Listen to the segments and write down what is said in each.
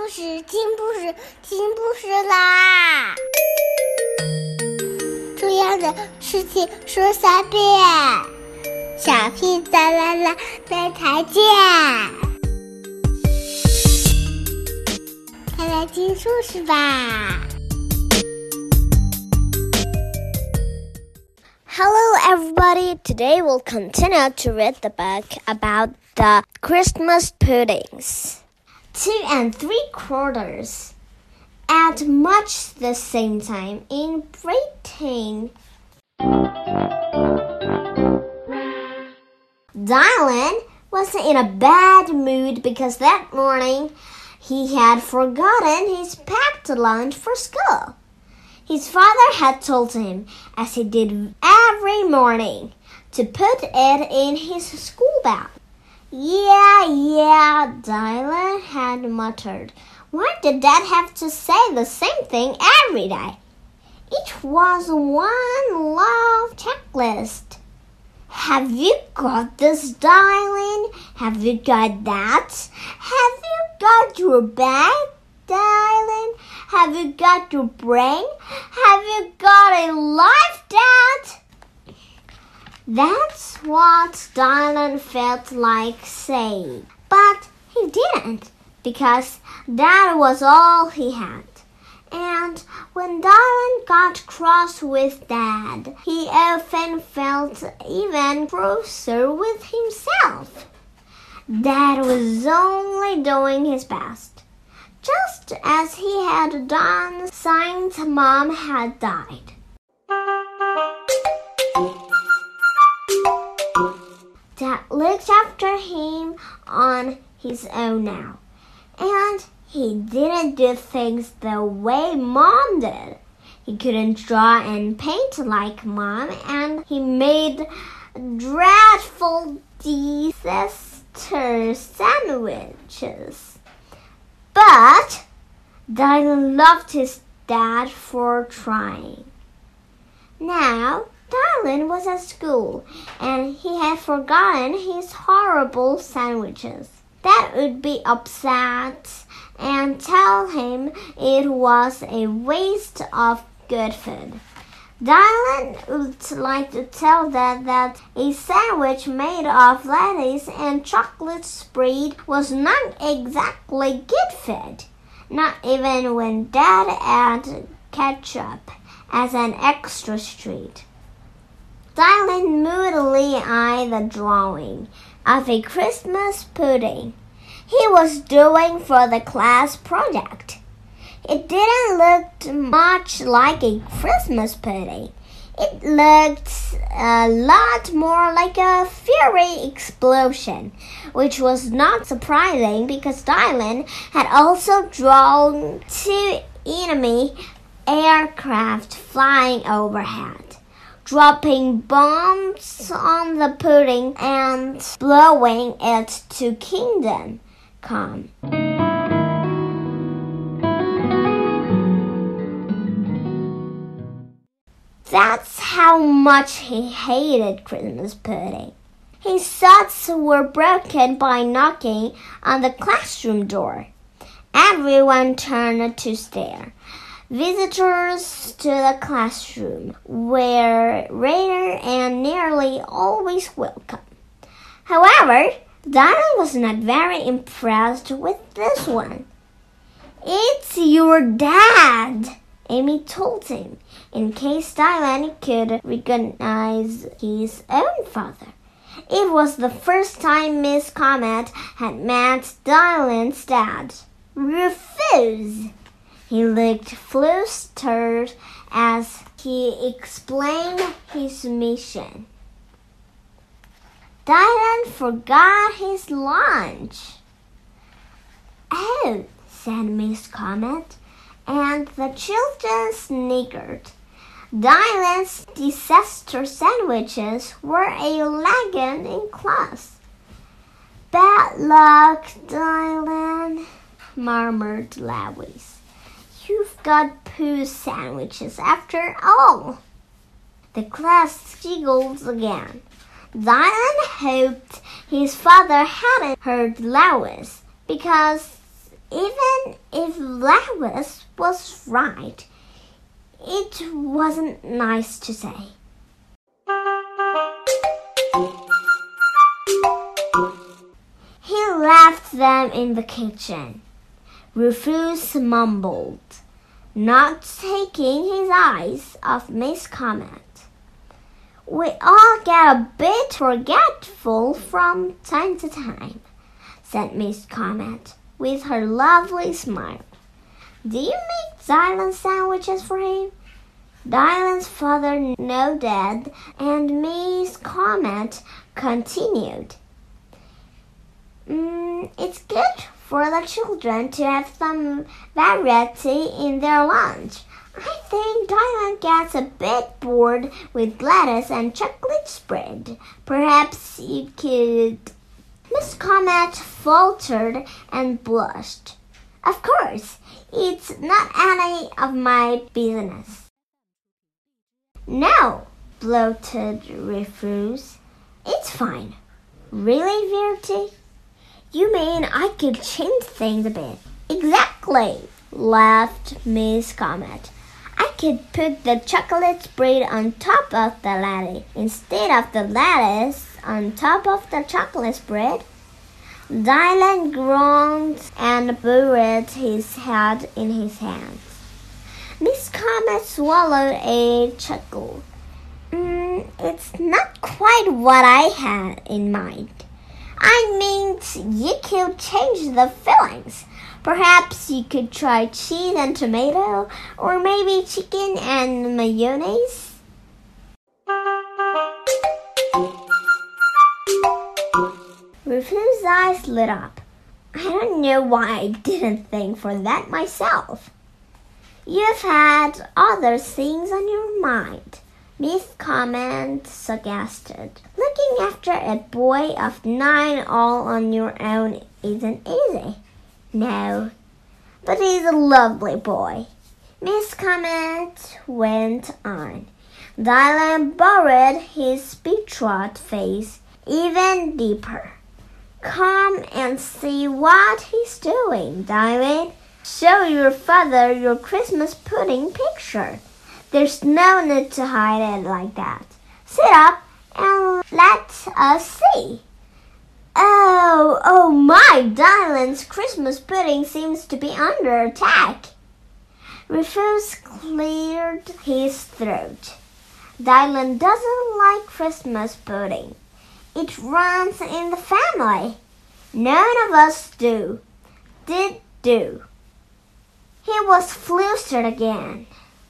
故事，听故事，听故事啦！重要的事情说3遍，小屁哒啦啦，明天见！快来听故事吧。 Hello everybody, today we'll continue to read the book about the Christmas puddings. 2 3/4. At much the same time in Britain. Dylan was in a bad mood because that morning he had forgotten his packed lunch for school. His father had told him, as he did every morning, to put it in his school bag. Yeah, Dylan had muttered. Why did Dad have to say the same thing every day? It was one long checklist. Have you got this, Dylan? Have you got that? Have you got your bag, Dylan? Have you got your brain? Have you got a life, Dad? That's what Dylan felt like saying, but he didn't, because that was all he had. And when Dylan got cross with Dad, he often felt even crosser with himself. Dad was only doing his best, just as he had done since Mom had died. Dad looked after him on his own now, and he didn't do things the way Mom did. He couldn't draw and paint like Mom, and he made dreadful disaster sandwiches. But Dylan loved his dad for trying. Now, Dylan was at school, and he had forgotten his horrible sandwiches. Dad would be upset and tell him it was a waste of good food. Dylan would like to tell Dad that a sandwich made of lettuce and chocolate spread was not exactly good food, not even when Dad added ketchup as an extra treat. Dylan moodily eyed the drawing of a Christmas pudding he was doing for the class project. It didn't look much like a Christmas pudding. It looked a lot more like a fiery explosion, which was not surprising because Dylan had also drawn 2 enemy aircraft flying overhead, dropping bombs on the pudding and blowing it to kingdom come. That's how much he hated Christmas pudding. His thoughts were broken by knocking on the classroom door. Everyone turned to stare. Visitors to the classroom were rare and nearly always welcome. However, Dylan was not very impressed with this one. It's your dad, Amy told him, in case Dylan could recognize his own father. It was the first time Miss Comet had met Dylan's dad. Refuse! He looked flustered as he explained his mission. Dylan forgot his lunch. Oh, said Miss Comet, and the children sniggered. Dylan's disaster sandwiches were a legend in class. Bad luck, Dylan, murmured Lois. You've got poo sandwiches after all. The class giggled again. Dylan hoped his father hadn't heard Lois, because even if Lewis was right, it wasn't nice to say. He left them in the kitchen. Rufus mumbled, not taking his eyes off Miss Comet. We all get a bit forgetful from time to time, said Miss Comet, with her lovely smile. Do you make Dylan sandwiches for him? Dylan's father nodded, and Miss Comet continued. It's good for the children to have some variety in their lunch. I think Dylan gets a bit bored with lettuce and chocolate spread. Perhaps you could... Miss Comet faltered and blushed. Of course, it's not any of my business. No, bloated Rufus. It's fine. Really, Verity? You mean I could change things a bit? Exactly, laughed Miss Comet. I could put the chocolate spread on top of the lettuce instead of the lettuce on top of the chocolate spread. Dylan groaned and buried his head in his hands. Miss Comet swallowed a chuckle. It's not quite what I had in mind. I mean, you could change the fillings. Perhaps you could try cheese and tomato, or maybe chicken and mayonnaise. Rufus' eyes lit up. I don't know why I didn't think for that myself. You've had other things on your mind, Miss Comet suggested. Looking after a boy of 9 all on your own isn't easy. No, but he's a lovely boy, Miss Comet went on. Dylan buried his betrothed face even deeper. Come and see what he's doing, Dylan. Show your father your Christmas pudding picture. There's no need to hide it like that. Sit up and let us see. Oh my, Dylan's Christmas pudding seems to be under attack. Rufus cleared his throat. Dylan doesn't like Christmas pudding. It runs in the family. None of us do. Do. He was flustered again.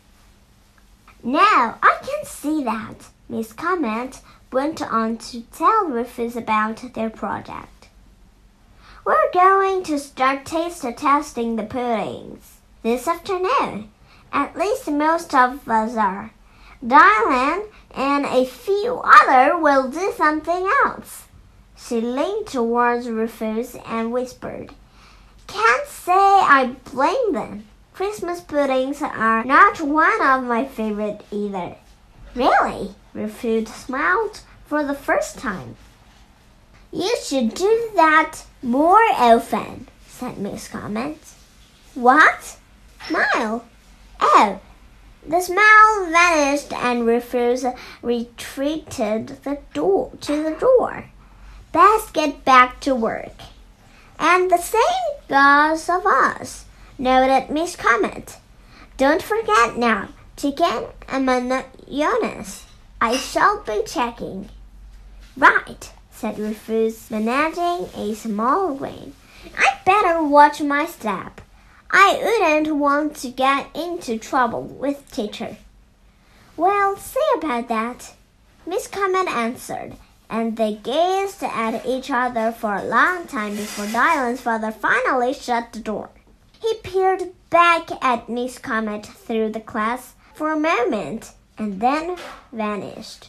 Now I can see that, Miss Comet went on to tell Rufus about their project. We're going to start taste testing the puddings this afternoon. At least most of us are. Dylan and a few others will do something else. She leaned towards Rufus and whispered, Can't say I blame them. Christmas puddings are not one of my favorite either. Really? Rufus smiled for the first time. You should do that more often, said Miss Comet. What? Smile. Oh. The smile vanished and Rufus retreated to the door. Best get back to work. And the same goes of us, noted Miss Comet. Don't forget now, chicken and mayonnaise. I shall be checking. Right, said Rufus, managing a small grin. I'd better watch my step. I wouldn't want to get into trouble with teacher. Well, see about that, Miss Comet answered, and they gazed at each other for a long time before Dylan's father finally shut the door. He peered back at Miss Comet through the class for a moment and then vanished.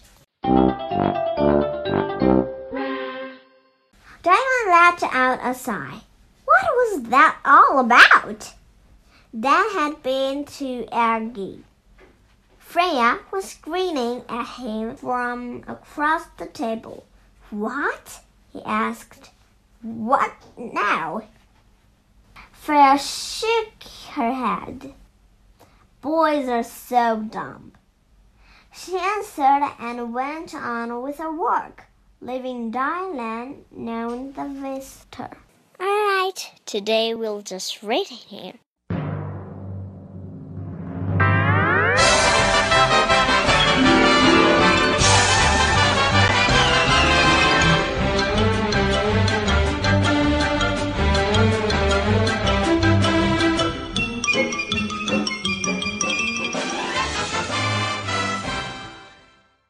Dylan let out a sigh. What was that all about? That had been too aggy. Freya was grinning at him from across the table. What? He asked. What now? Freya shook her head. Boys are so dumb. She answered and went on with her work, leaving Dylan known the visitor. All right, today we'll just read it here.